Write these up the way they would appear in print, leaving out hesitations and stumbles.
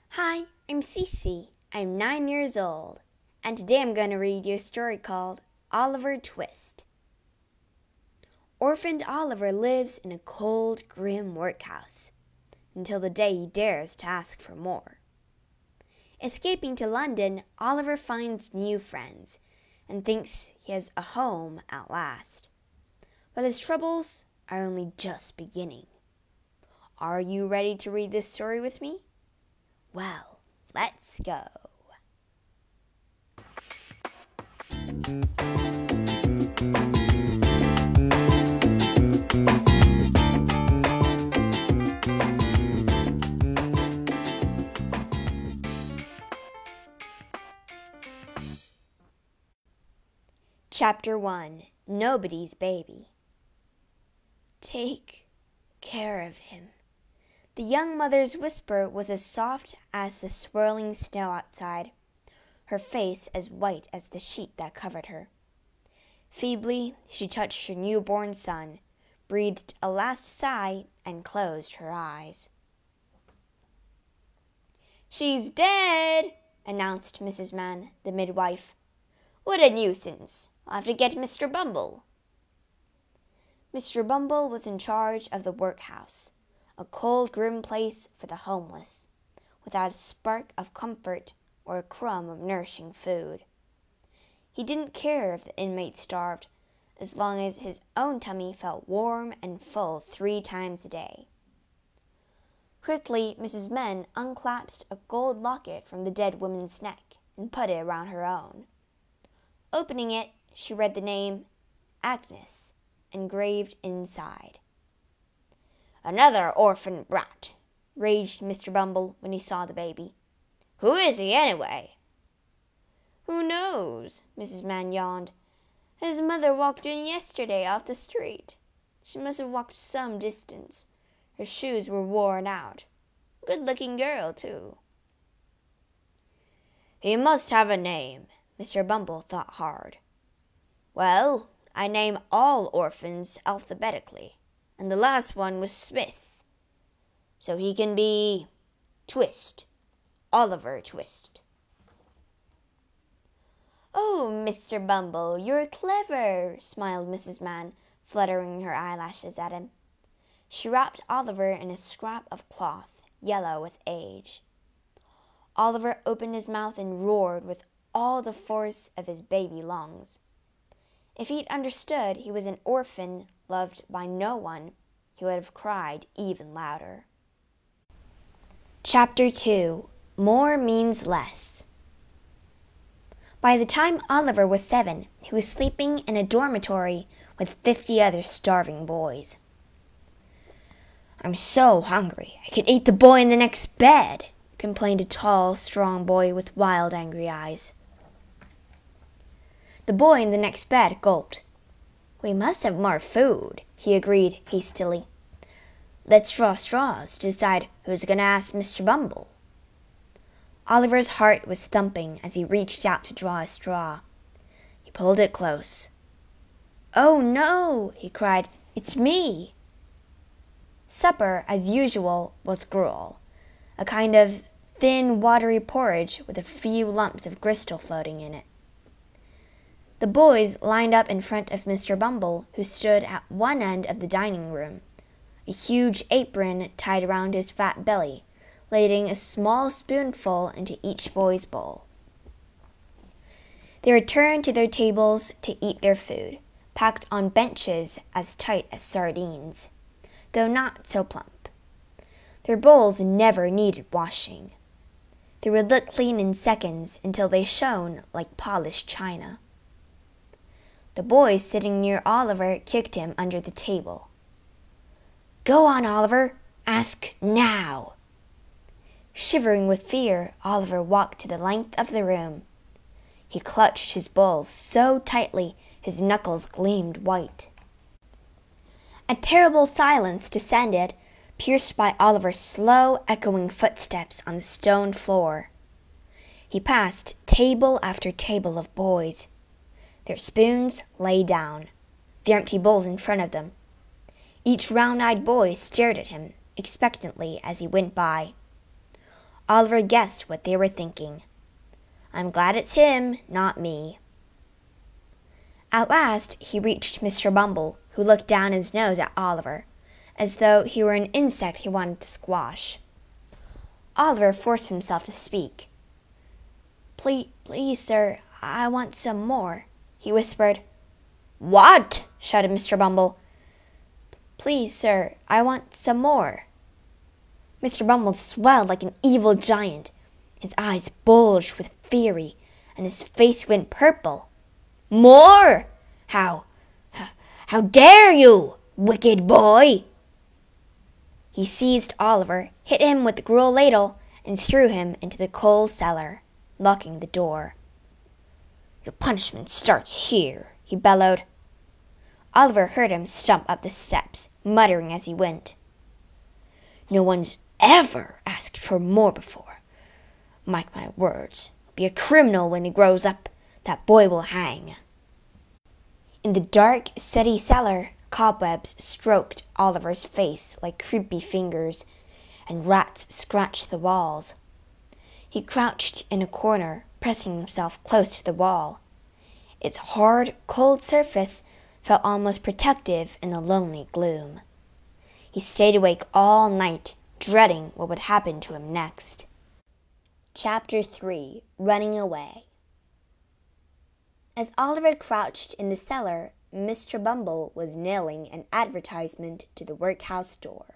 Hi, I'm Cece. I'm 9 years old, and today I'm going to read you a story called Oliver Twist. Orphaned Oliver lives in a cold, grim workhouse until the day he dares to ask for more. Escaping to London, Oliver finds new friends and thinks he has a home at last. But his troubles are only just beginning. Are you ready to read this story with me? Well, let's go. Chapter 1. Nobody's Baby. Take care of him. The young mother's whisper was as soft as the swirling snow outside, her face as white as the sheet that covered her. Feebly, she touched her newborn son, breathed a last sigh, and closed her eyes. "She's dead," announced Mrs. Mann, the midwife. "What a nuisance. I'll have to get Mr. Bumble." Mr. Bumble was in charge of the workhouse, a cold, grim place for the homeless, without a spark of comfort or a crumb of nourishing food. He didn't care if the inmates starved, as long as his own tummy felt warm and full 3 times a day. Quickly, Mrs. Mann unclasped a gold locket from the dead woman's neck and put it around her own. Opening it, she read the name Agnes engraved inside. "Another orphan brat," raged Mr. Bumble when he saw the baby. "Who is he, anyway?" "Who knows?" Mrs. Mann yawned. "His mother walked in yesterday off the street. She must have walked some distance. Her shoes were worn out. Good-looking girl, too." "He must have a name." Mr. Bumble thought hard. "Well, I name all orphans alphabetically, and the last one was Smith. So he can be Twist, Oliver Twist." "Oh, Mr. Bumble, you're clever," smiled Mrs. Mann, fluttering her eyelashes at him. She wrapped Oliver in a scrap of cloth, yellow with age. Oliver opened his mouth and roared with all the force of his baby lungs. If he'd understood he was an orphan loved by no one, he would have cried even louder. Chapter 2. More Means Less. By the time Oliver was 7, he was sleeping in a dormitory with 50 other starving boys. "I'm so hungry, I could eat the boy in the next bed," complained a tall, strong boy with wild, angry eyes. The boy in the next bed gulped. "We must have more food," he agreed hastily. "Let's draw straws to decide who's going to ask Mr. Bumble." Oliver's heart was thumping as he reached out to draw a straw. He pulled it close. "Oh, no," he cried. "It's me." Supper, as usual, was gruel, a kind of thin, watery porridge with a few lumps of gristle floating in it. The boys lined up in front of Mr. Bumble, who stood at one end of the dining room, a huge apron tied around his fat belly, ladling a small spoonful into each boy's bowl. They returned to their tables to eat their food, packed on benches as tight as sardines, though not so plump. Their bowls never needed washing. They would look clean in seconds until they shone like polished china. The boy sitting near Oliver kicked him under the table. "Go on, Oliver. Ask now." Shivering with fear, Oliver walked to the length of the room. He clutched his bowl so tightly his knuckles gleamed white. A terrible silence descended, pierced by Oliver's slow, echoing footsteps on the stone floor. He passed table after table of boys. Their spoons lay down, the empty bowls in front of them. Each round-eyed boy stared at him expectantly as he went by. Oliver guessed what they were thinking. "I'm glad it's him, not me." At last he reached Mr. Bumble, who looked down his nose at Oliver, as though he were an insect he wanted to squash. Oliver forced himself to speak. Please, sir, I want some more," he whispered. "What?" shouted Mr. Bumble. "Please, sir, I want some more." Mr. Bumble swelled like an evil giant. His eyes bulged with fury, and his face went purple. "More? How dare you, wicked boy!" He seized Oliver, hit him with the gruel ladle, and threw him into the coal cellar, locking the door. "Your punishment starts here," he bellowed. Oliver heard him stump up the steps, muttering as he went. "No one's ever asked for more before. Mark my words, be a criminal when he grows up. That boy will hang." In the dark, steady cellar, cobwebs stroked Oliver's face like creepy fingers, and rats scratched the walls. He crouched in a corner, pressing himself close to the wall. Its hard, cold surface felt almost protective in the lonely gloom. He stayed awake all night, dreading what would happen to him next. Chapter 3. Running Away. As Oliver crouched in the cellar, Mr. Bumble was nailing an advertisement to the workhouse door.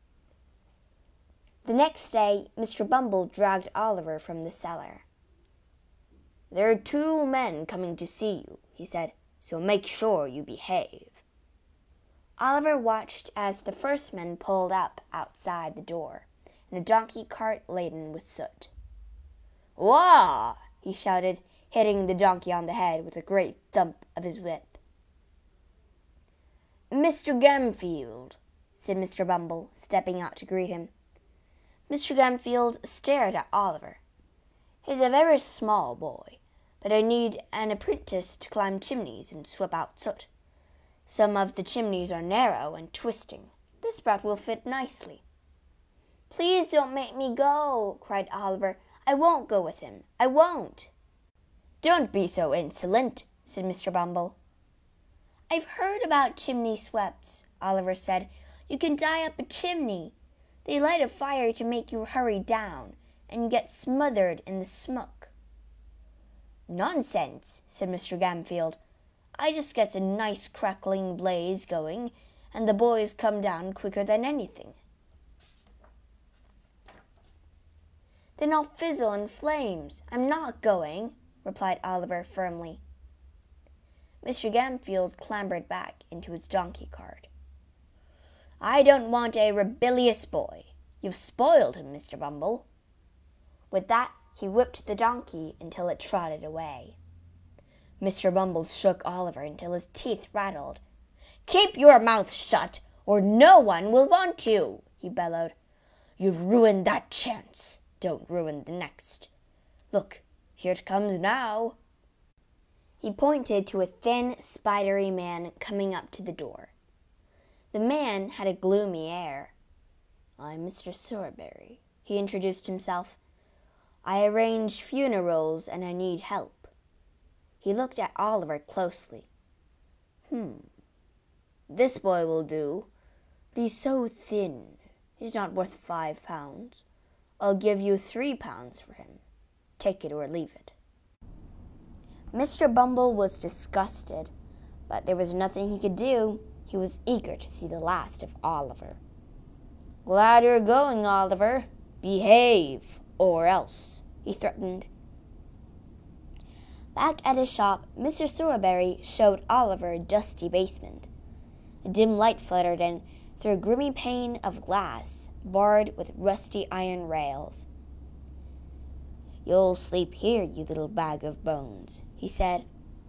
The next day, Mr. Bumble dragged Oliver from the cellar. "There are 2 men coming to see you," he said, "so make sure you behave." Oliver watched as the first man pulled up outside the door, in a donkey cart laden with soot. "Wah!" he shouted, hitting the donkey on the head with a great thump of his whip. "Mr. Gamfield," said Mr. Bumble, stepping out to greet him. Mr. Gamfield stared at Oliver. "He's a very small boy, but I need an apprentice to climb chimneys and sweep out soot. Some of the chimneys are narrow and twisting. This brat will fit nicely." "Please don't make me go," cried Oliver. "I won't go with him. I won't." "Don't be so insolent," said Mr. Bumble. "I've heard about chimney sweeps," Oliver said. "You can tie up a chimney. They light a fire to make you hurry down, and get smothered in the smoke." "Nonsense," said Mr. Gamfield. "I just get a nice crackling blaze going, and the boys come down quicker than anything." "Then I'll fizzle in flames. I'm not going," replied Oliver firmly. Mr. Gamfield clambered back into his donkey cart. "I don't want a rebellious boy. You've spoiled him, Mr. Bumble." With that, he whipped the donkey until it trotted away. Mr. Bumble shook Oliver until his teeth rattled. "Keep your mouth shut, or no one will want you," he bellowed. "You've ruined that chance. Don't ruin the next. Look, here it comes now." He pointed to a thin, spidery man coming up to the door. The man had a gloomy air. "I'm Mr. Sowerberry," he introduced himself. "I arrange funerals and I need help." He looked at Oliver closely. This boy will do, but he's so thin. He's not worth £5. I'll give you £3 for him. Take it or leave it." Mr. Bumble was disgusted, but there was nothing he could do. He was eager to see the last of Oliver. "Glad you're going, Oliver. Behave, or else," he threatened. Back at his shop, Mr. Sowerberry showed Oliver a dusty basement. A dim light fluttered in through a grimy pane of glass, barred with rusty iron rails. "You'll sleep here, you little bag of bones," he said.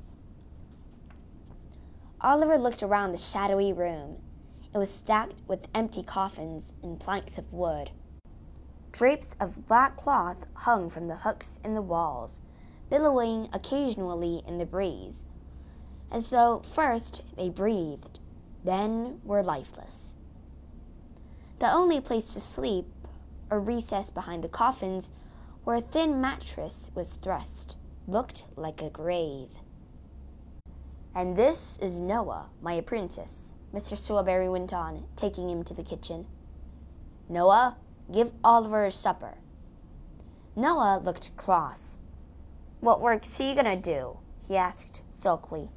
Oliver looked around the shadowy room. It was stacked with empty coffins and planks of wood. Drapes of black cloth hung from the hooks in the walls, billowing occasionally in the breeze, as though first they breathed, then were lifeless. The only place to sleep a recess behind the coffins, where a thin mattress was thrust, looked like a grave. "And this is Noah, my apprentice," Mr. Strawberry went on, taking him to the kitchen. "Noah, give Oliver his supper." Noah looked cross. "What work's he gonna do?" he asked sulkily.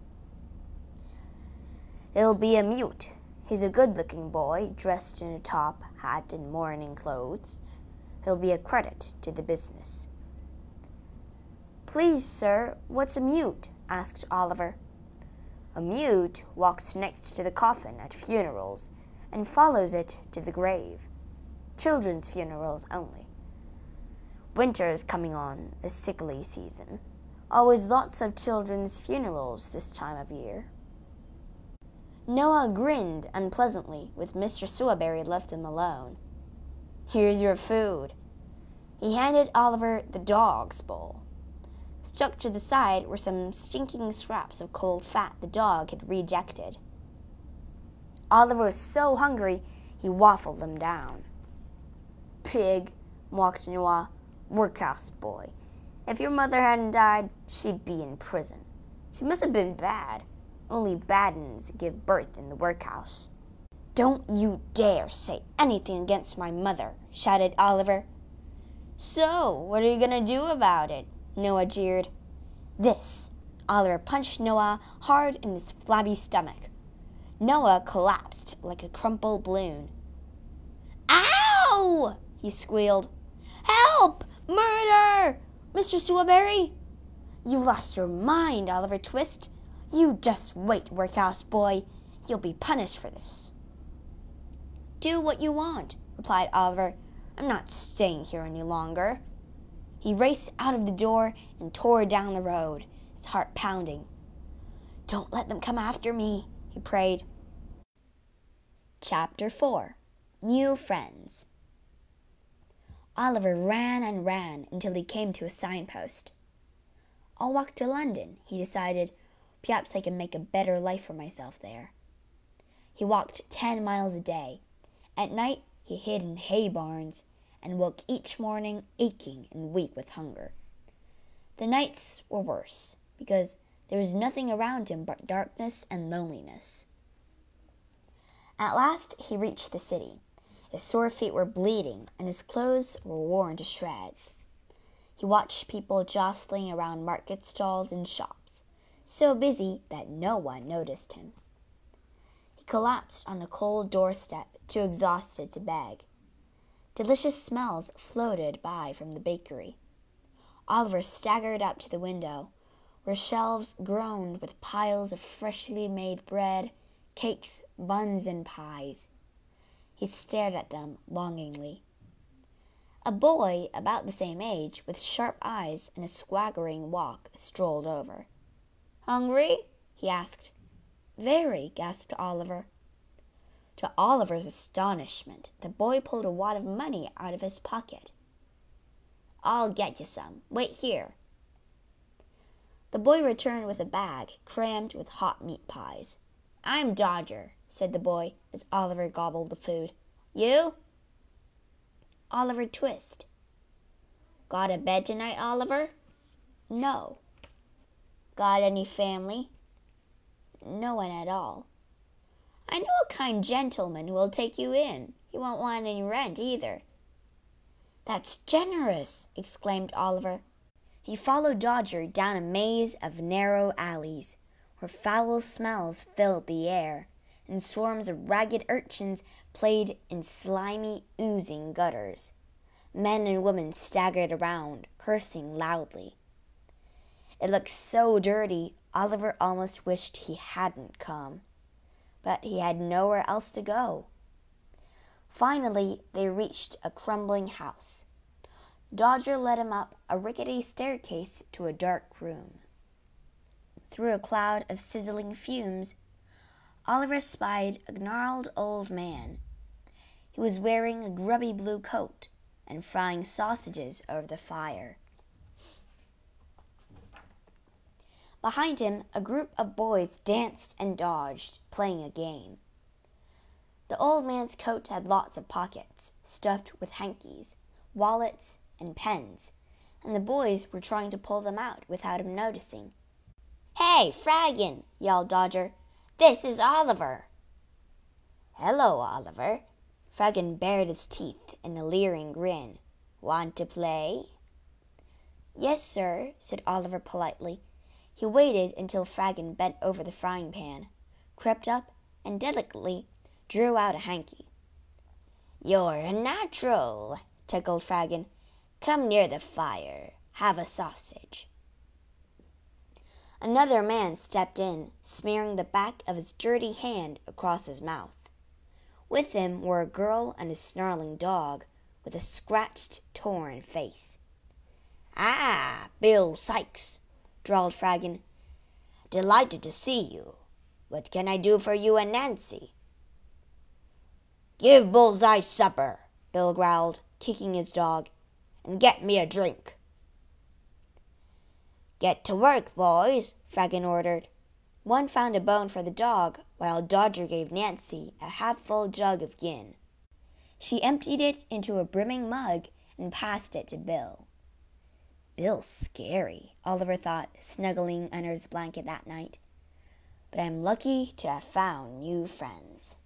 "He'll be a mute. He's a good-looking boy, dressed in a top hat and mourning clothes. He'll be a credit to the business." "Please, sir, what's a mute?" asked Oliver. "A mute walks next to the coffin at funerals and follows it to the grave. Children's funerals only. Winter's coming on, a sickly season. Always lots of children's funerals this time of year." Noah grinned unpleasantly when Mr. Strawberry left him alone. "Here's your food." He handed Oliver the dog's bowl. Stuck to the side were some stinking scraps of cold fat the dog had rejected. Oliver was so hungry he waffled them down. "Pig," mocked Noah. "Workhouse boy. If your mother hadn't died, she'd be in prison. She must have been bad. Only bad uns give birth in the workhouse." "Don't you dare say anything against my mother," shouted Oliver. "So, what are you going to do about it?" Noah jeered. "This." Oliver punched Noah hard in his flabby stomach. Noah collapsed like a crumpled balloon. "Ow!" he squealed. "Help! Murder! Mr. Strawberry!" "You've lost your mind, Oliver Twist. You just wait, workhouse boy. You'll be punished for this." "Do what you want," replied Oliver. "I'm not staying here any longer." He raced out of the door and tore down the road, his heart pounding. "Don't let them come after me," he prayed. Chapter 4. New Friends. Oliver ran and ran until he came to a signpost. "I'll walk to London," he decided. "Perhaps I can make a better life for myself there." He walked 10 miles a day. At night he hid in hay barns and woke each morning aching and weak with hunger. The nights were worse, because there was nothing around him but darkness and loneliness. At last he reached the city. His sore feet were bleeding, and his clothes were worn to shreds. He watched people jostling around market stalls and shops, so busy that no one noticed him. He collapsed on a cold doorstep, too exhausted to beg. Delicious smells floated by from the bakery. Oliver staggered up to the window, where shelves groaned with piles of freshly made bread, cakes, buns, and pies. He stared at them longingly. A boy about the same age, with sharp eyes and a swaggering walk, strolled over. "Hungry?" he asked. "Very," gasped Oliver. To Oliver's astonishment, the boy pulled a wad of money out of his pocket. "I'll get you some. Wait here." The boy returned with a bag crammed with hot meat pies. "I'm Dodger," said the boy as Oliver gobbled the food. "You?" "Oliver Twist." "Got a bed tonight, Oliver?" "No." "Got any family?" "No one at all." "I know a kind gentleman who will take you in. He won't want any rent either." "That's generous!" exclaimed Oliver. He followed Dodger down a maze of narrow alleys, where foul smells filled the air, and swarms of ragged urchins played in slimy, oozing gutters. Men and women staggered around, cursing loudly. It looked so dirty, Oliver almost wished he hadn't come. But he had nowhere else to go. Finally, they reached a crumbling house. Dodger led him up a rickety staircase to a dark room. Through a cloud of sizzling fumes, Oliver spied a gnarled old man. He was wearing a grubby blue coat and frying sausages over the fire. Behind him, a group of boys danced and dodged, playing a game. The old man's coat had lots of pockets, stuffed with hankies, wallets, and pens, and the boys were trying to pull them out without him noticing. "Hey, Fraggin!" yelled Dodger. "This is Oliver." "Hello, Oliver." Fraggin bared his teeth in a leering grin. "Want to play?" "Yes, sir," said Oliver politely. He waited until Fraggin bent over the frying pan, crept up, and delicately drew out a hanky. "You're a natural," tickled Fraggin. "Come near the fire. Have a sausage." Another man stepped in, smearing the back of his dirty hand across his mouth. With him were a girl and a snarling dog with a scratched, torn face. "Ah, Bill Sikes," drawled Fraggin. "Delighted to see you. What can I do for you and Nancy?" "Give Bullseye supper," Bill growled, kicking his dog, "and get me a drink." "Get to work, boys," Fraggin ordered. One found a bone for the dog, while Dodger gave Nancy a half-full jug of gin. She emptied it into a brimming mug and passed it to Bill. "Bill's scary," Oliver thought, snuggling under his blanket that night. "But I'm lucky to have found new friends."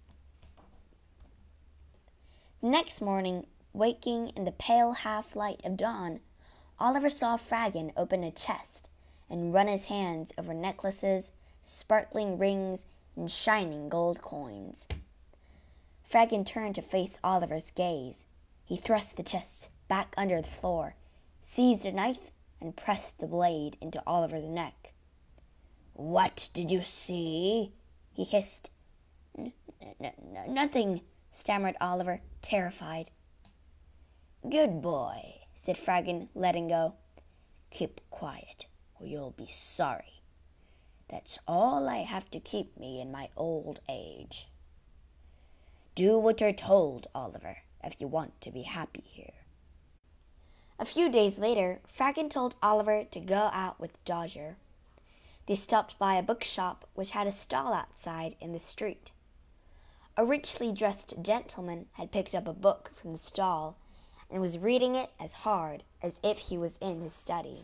The next morning, waking in the pale half-light of dawn, Oliver saw Fraggin open a chest and run his hands over necklaces, sparkling rings, and shining gold coins. Fraggin turned to face Oliver's gaze. He thrust the chest back under the floor, seized a knife, and pressed the blade into Oliver's neck. "What did you see?" he hissed. Nothing," stammered Oliver, terrified. "Good boy," said Fraggin, letting go. "Keep quiet, or you'll be sorry. That's all I have to keep me in my old age. Do what you're told, Oliver, if you want to be happy here." A few days later, Fraggin told Oliver to go out with Dodger. They stopped by a bookshop which had a stall outside in the street. A richly dressed gentleman had picked up a book from the stall and was reading it as hard as if he was in his study.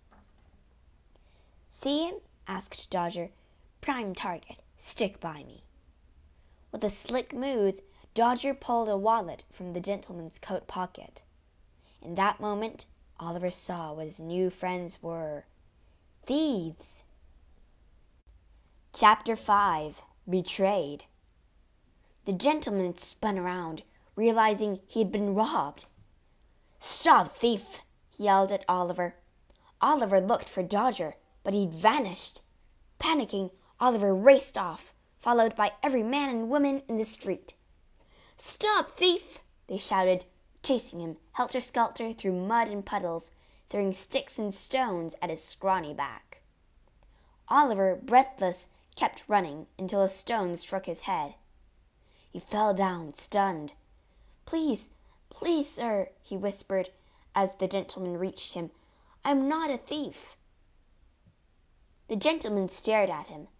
"See him?" asked Dodger. "Prime target. Stick by me." With a slick move, Dodger pulled a wallet from the gentleman's coat pocket. In that moment, Oliver saw what his new friends were. Thieves! Chapter 5. Betrayed. The gentleman spun around, realizing he had been robbed. "Stop, thief!" he yelled at Oliver. Oliver looked for Dodger, but he'd vanished. Panicking, Oliver raced off, followed by every man and woman in the street. "Stop, thief!" they shouted, chasing him helter-skelter through mud and puddles, throwing sticks and stones at his scrawny back. Oliver, breathless, kept running until a stone struck his head. He fell down, stunned. Please, sir," he whispered as the gentleman reached him. "I'm not a thief." The gentleman stared at him.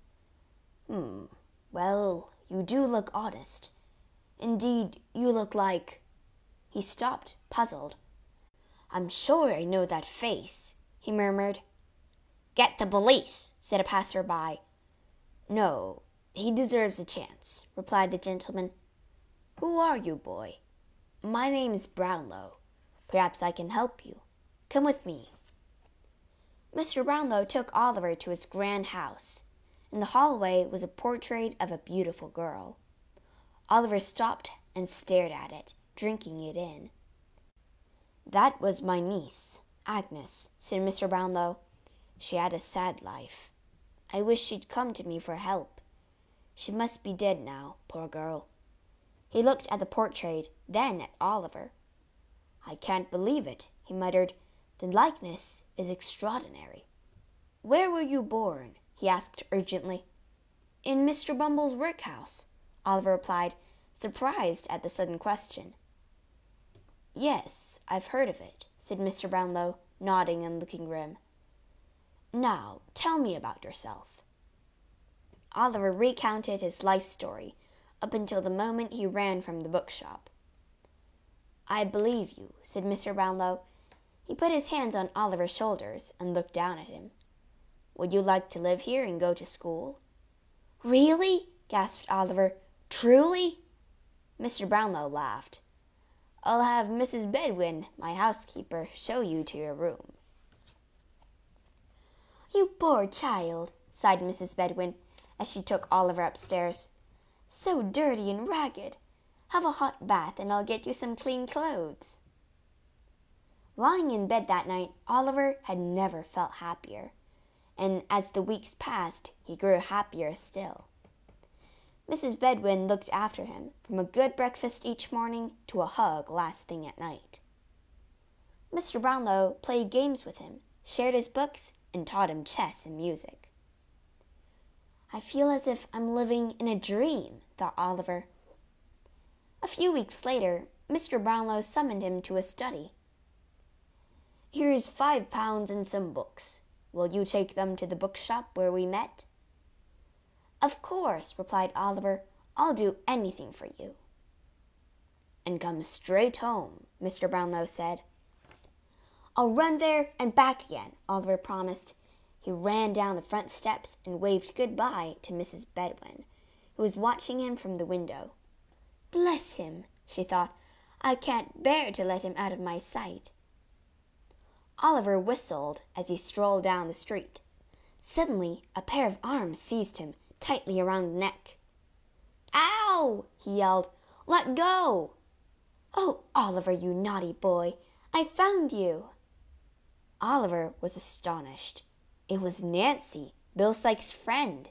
Well, you do look honest. Indeed, you look like—" He stopped, puzzled. "I'm sure I know that face," he murmured. "Get the police," said a passer-by. "No, he deserves a chance," replied the gentleman. "Who are you, boy?" "My name is Brownlow. Perhaps I can help you. Come with me." Mr. Brownlow took Oliver to his grand house. In the hallway was a portrait of a beautiful girl. Oliver stopped and stared at it, drinking it in. "That was my niece, Agnes," said Mr. Brownlow. "She had a sad life. I wish she'd come to me for help. She must be dead now, poor girl." He looked at the portrait, then at Oliver. "I can't believe it," he muttered. "The likeness is extraordinary." "Where were you born?" he asked urgently. "In Mr. Bumble's workhouse," Oliver replied, surprised at the sudden question. "Yes, I've heard of it," said Mr. Brownlow, nodding and looking grim. "Now, tell me about yourself." Oliver recounted his life story, up until the moment he ran from the bookshop. "I believe you," said Mr. Brownlow. He put his hands on Oliver's shoulders and looked down at him. "Would you like to live here and go to school?" "Really?" gasped Oliver. "Truly?" Mr. Brownlow laughed. "I'll have Mrs. Bedwin, my housekeeper, show you to your room." "You poor child," sighed Mrs. Bedwin, as she took Oliver upstairs. "So dirty and ragged. Have a hot bath, and I'll get you some clean clothes." Lying in bed that night, Oliver had never felt happier, and as the weeks passed, he grew happier still. Mrs. Bedwin looked after him, from a good breakfast each morning to a hug last thing at night. Mr. Brownlow played games with him, shared his books, and taught him chess and music. "I feel as if I'm living in a dream," thought Oliver. A few weeks later, Mr. Brownlow summoned him to his study. "Here's £5 and some books. Will you take them to the bookshop where we met?" "Of course," replied Oliver. "I'll do anything for you." "And come straight home," Mr. Brownlow said. "I'll run there and back again," Oliver promised. He ran down the front steps and waved good-bye to Mrs. Bedwin, who was watching him from the window. "Bless him," she thought. "I can't bear to let him out of my sight." Oliver whistled as he strolled down the street. Suddenly, a pair of arms seized him tightly around the neck. "Ow!" he yelled. "Let go!" "Oh, Oliver, you naughty boy! I found you!" Oliver was astonished. It was Nancy, Bill Sikes' friend.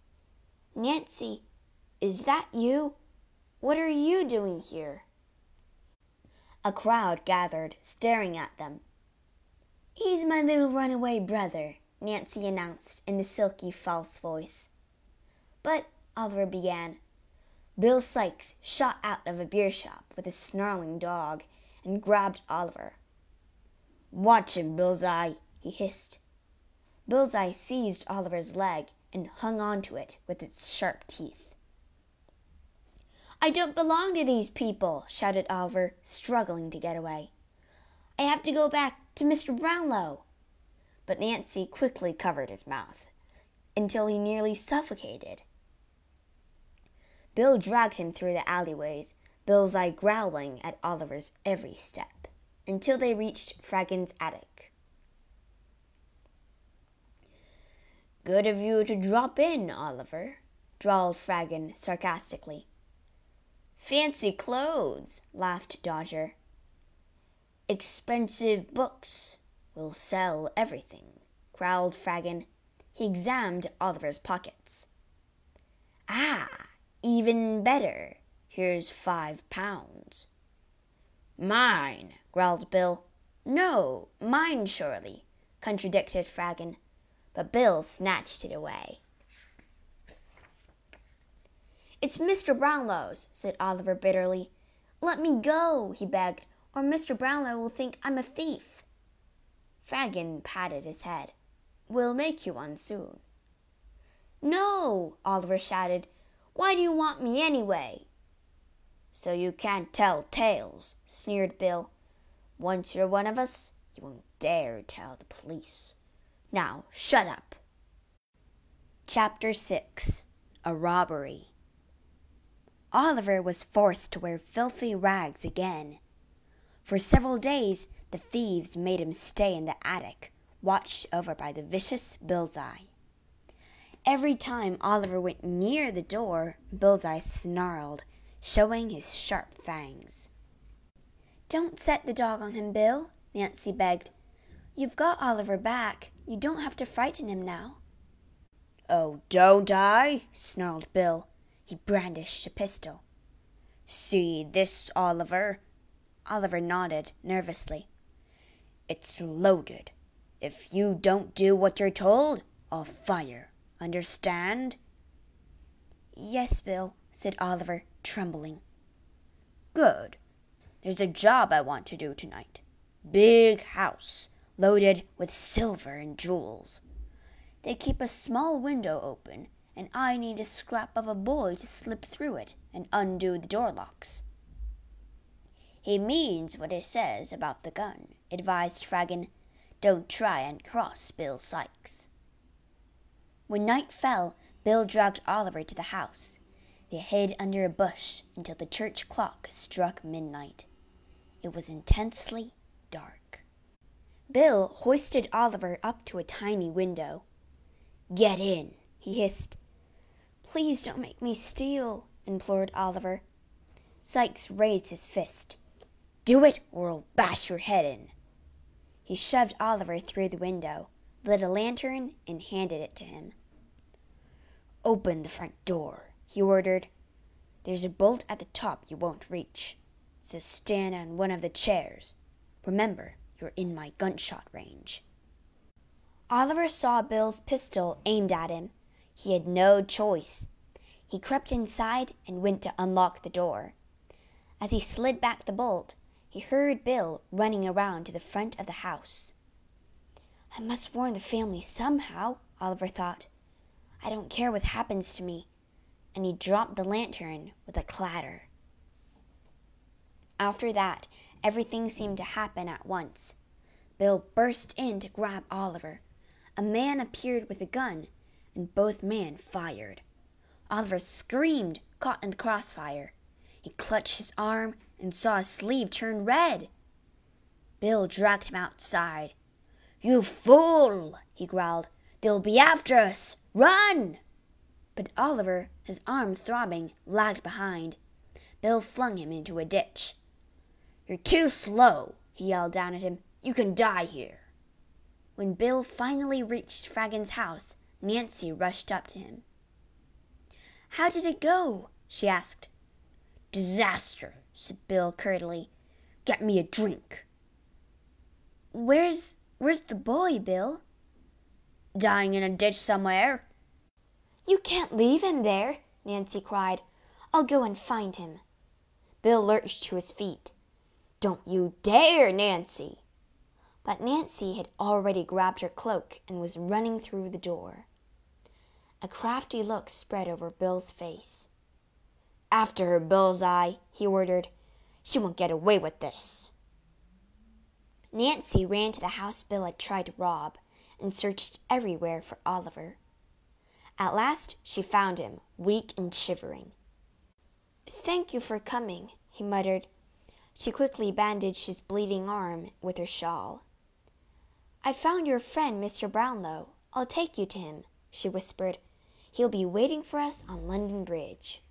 "Nancy, is that you? What are you doing here?" A crowd gathered, staring at them. "He's my little runaway brother," Nancy announced in a silky, false voice. "But," Oliver began. Bill Sikes shot out of a beer shop with a snarling dog and grabbed Oliver. "Watch him, Bullseye," he hissed. Bullseye seized Oliver's leg and hung on to it with its sharp teeth. "I don't belong to these people," shouted Oliver, struggling to get away. "I have to go back to Mr. Brownlow." But Nancy quickly covered his mouth, until he nearly suffocated. Bill dragged him through the alleyways, Bullseye growling at Oliver's every step, until they reached Fragin's attic. "Good of you to drop in, Oliver," drawled Fragin sarcastically. "Fancy clothes," laughed Dodger. "Expensive books. We'll sell everything," growled Fragin. He examined Oliver's pockets. "Ah, even better. Here's £5. "Mine," growled Bill. "No, mine surely," contradicted Fragin, but Bill snatched it away. "It's Mr. Brownlow's," said Oliver bitterly. "Let me go," he begged, "or Mr. Brownlow will think I'm a thief." Fragin patted his head. "We'll make you one soon." "No," Oliver shouted. "Why do you want me anyway?" "So you can't tell tales," sneered Bill. "Once you're one of us, you won't dare tell the police. Now, shut up." Chapter 6. A Robbery. Oliver was forced to wear filthy rags again. For several days, the thieves made him stay in the attic, watched over by the vicious Bullseye. Every time Oliver went near the door, Bullseye snarled, showing his sharp fangs. "Don't set the dog on him, Bill," Nancy begged. "You've got Oliver back. You don't have to frighten him now." "Oh, don't I?" snarled Bill. He brandished a pistol. "See this, Oliver?" Oliver nodded nervously. "It's loaded. If you don't do what you're told, I'll fire. Understand?" "Yes, Bill," said Oliver, trembling. "Good. There's a job I want to do tonight. Big house, loaded with silver and jewels. They keep a small window open, and I need a scrap of a boy to slip through it and undo the door locks." "He means what he says about the gun," advised Fagin. "Don't try and cross Bill Sikes." When night fell, Bill dragged Oliver to the house. They hid under a bush until the church clock struck midnight. It was intensely dark. Bill hoisted Oliver up to a tiny window. "Get in," he hissed. "Please don't make me steal," implored Oliver. Sikes raised his fist. "Do it, or I'll bash your head in." He shoved Oliver through the window, lit a lantern, and handed it to him. "Open the front door," he ordered. "There's a bolt at the top you won't reach, so stand on one of the chairs. Remember, you're in my gunshot range." Oliver saw Bill's pistol aimed at him. He had no choice. He crept inside and went to unlock the door. As he slid back the bolt, he heard Bill running around to the front of the house. "I must warn the family somehow," Oliver thought. "I don't care what happens to me," and he dropped the lantern with a clatter. After that, everything seemed to happen at once. Bill burst in to grab Oliver. A man appeared with a gun, and both men fired. Oliver screamed, caught in the crossfire. He clutched his arm and saw his sleeve turn red. Bill dragged him outside. "You fool!" he growled. "They'll be after us! Run!" But Oliver, his arm throbbing, lagged behind. Bill flung him into a ditch. "You're too slow," he yelled down at him. "You can die here." When Bill finally reached Fagin's house, Nancy rushed up to him. "How did it go?" she asked. "Disaster," said Bill curtly. "Get me a drink." Where's the boy, Bill?" "Dying in a ditch somewhere." "You can't leave him there," Nancy cried. "I'll go and find him." Bill lurched to his feet. "Don't you dare, Nancy!" But Nancy had already grabbed her cloak and was running through the door. A crafty look spread over Bill's face. "After her, Bullseye," he ordered. "She won't get away with this." Nancy ran to the house Bill had tried to rob and searched everywhere for Oliver. At last she found him, weak and shivering. "Thank you for coming," he muttered. She quickly bandaged his bleeding arm with her shawl. "I found your friend, Mr. Brownlow. I'll take you to him," she whispered. "He'll be waiting for us on London Bridge."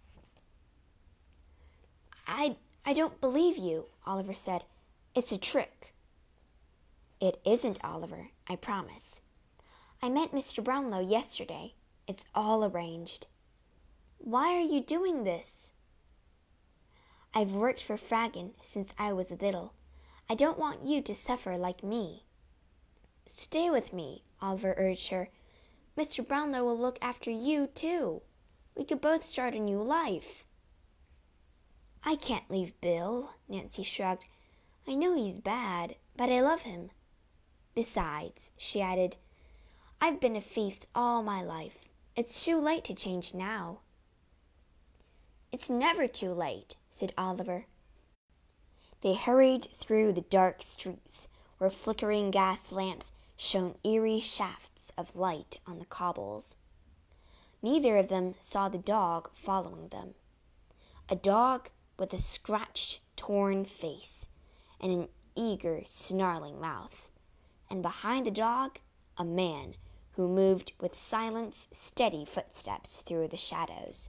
I don't believe you," Oliver said. "It's a trick." "It isn't, Oliver, I promise. I met Mr. Brownlow yesterday. It's all arranged." "Why are you doing this?" "I've worked for Fagin since I was little. I don't want you to suffer like me." "Stay with me," Oliver urged her. "Mr. Brownlow will look after you, too. We could both start a new life." "I can't leave Bill," Nancy shrugged. "I know he's bad, but I love him. Besides," she added, "I've been a thief all my life. It's too late to change now." "It's never too late," said Oliver. They hurried through the dark streets, where flickering gas lamps shone eerie shafts of light on the cobbles. Neither of them saw the dog following them. A dog with a scratched, torn face and an eager, snarling mouth. And behind the dog, a man who moved with silent, steady footsteps through the shadows.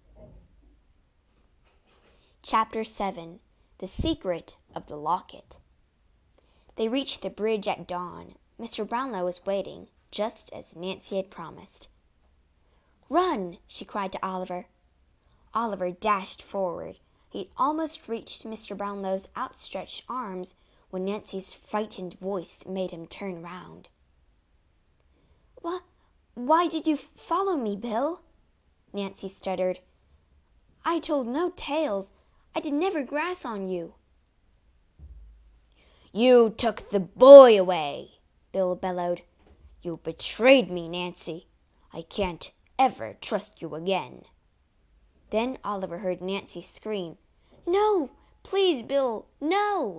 Chapter 7. The Secret of the Locket. They reached the bridge at dawn. Mr. Brownlow was waiting, just as Nancy had promised. "Run!" she cried to Oliver. Oliver dashed forward. He almost reached Mr. Brownlow's outstretched arms when Nancy's frightened voice made him turn round. Why did you follow me, Bill?" Nancy stuttered. "I told no tales. I did never grass on you." "You took the boy away," Bill bellowed. "You betrayed me, Nancy. I can't ever trust you again." Then Oliver heard Nancy scream, "No! Please, Bill, no!"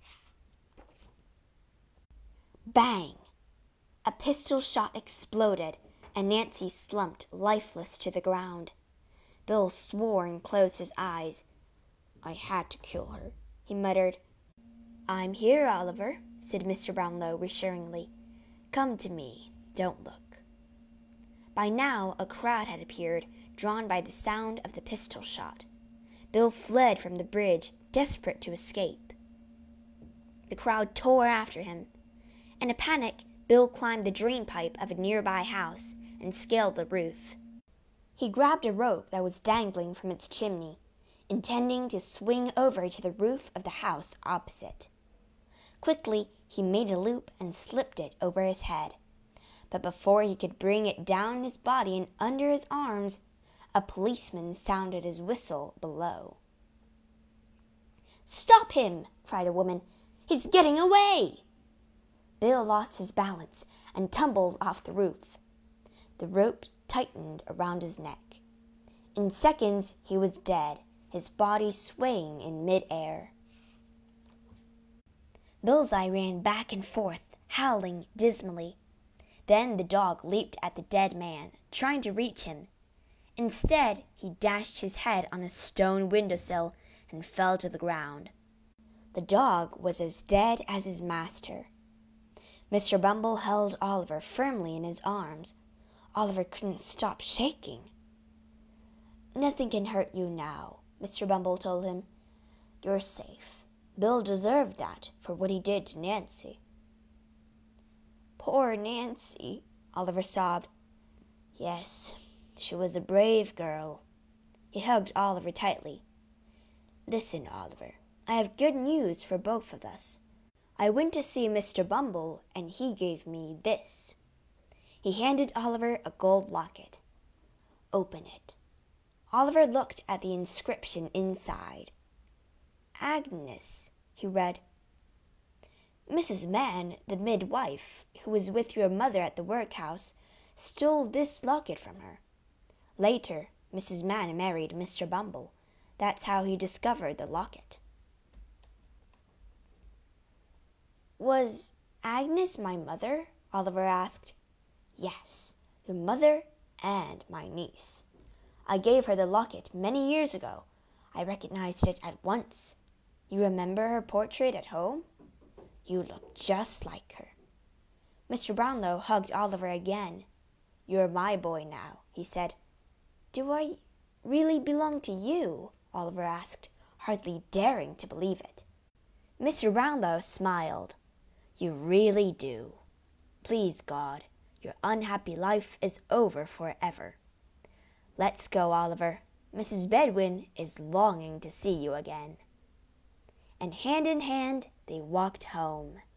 Bang! A pistol shot exploded, and Nancy slumped lifeless to the ground. Bill swore and closed his eyes. "I had to kill her," he muttered. "I'm here, Oliver," said Mr. Brownlow reassuringly. "Come to me. Don't look." By now a crowd had appeared, drawn by the sound of the pistol shot. Bill fled from the bridge, desperate to escape. The crowd tore after him. In a panic, Bill climbed the drain pipe of a nearby house and scaled the roof. He grabbed a rope that was dangling from its chimney, intending to swing over to the roof of the house opposite. Quickly, he made a loop and slipped it over his head. But before he could bring it down his body and under his arms, a policeman sounded his whistle below. "Stop him!" cried a woman. "He's getting away!" Bill lost his balance and tumbled off the roof. The rope tightened around his neck. In seconds, he was dead, his body swaying in mid-air. Bullseye ran back and forth, howling dismally. Then the dog leaped at the dead man, trying to reach him. Instead, he dashed his head on a stone windowsill and fell to the ground. The dog was as dead as his master. Mr. Bumble held Oliver firmly in his arms. Oliver couldn't stop shaking. "Nothing can hurt you now," Mr. Bumble told him. "You're safe. Bill deserved that for what he did to Nancy." "Poor Nancy," Oliver sobbed. "Yes, she was a brave girl." He hugged Oliver tightly. "Listen, Oliver, I have good news for both of us. I went to see Mr. Bumble, and he gave me this." He handed Oliver a gold locket. "Open it." Oliver looked at the inscription inside. "Agnes," he read. "Mrs. Mann, the midwife, who was with your mother at the workhouse, stole this locket from her. Later, Mrs. Mann married Mr. Bumble. That's how he discovered the locket." "Was Agnes my mother?" Oliver asked. "Yes, your mother and my niece. I gave her the locket many years ago. I recognized it at once. You remember her portrait at home? You look just like her." Mr. Brownlow hugged Oliver again. "You're my boy now," he said. "Do I really belong to you?" Oliver asked, hardly daring to believe it. Mr. Brownlow smiled. "You really do. Please God, your unhappy life is over forever. Let's go, Oliver. Mrs. Bedwin is longing to see you again." And hand in hand they walked home.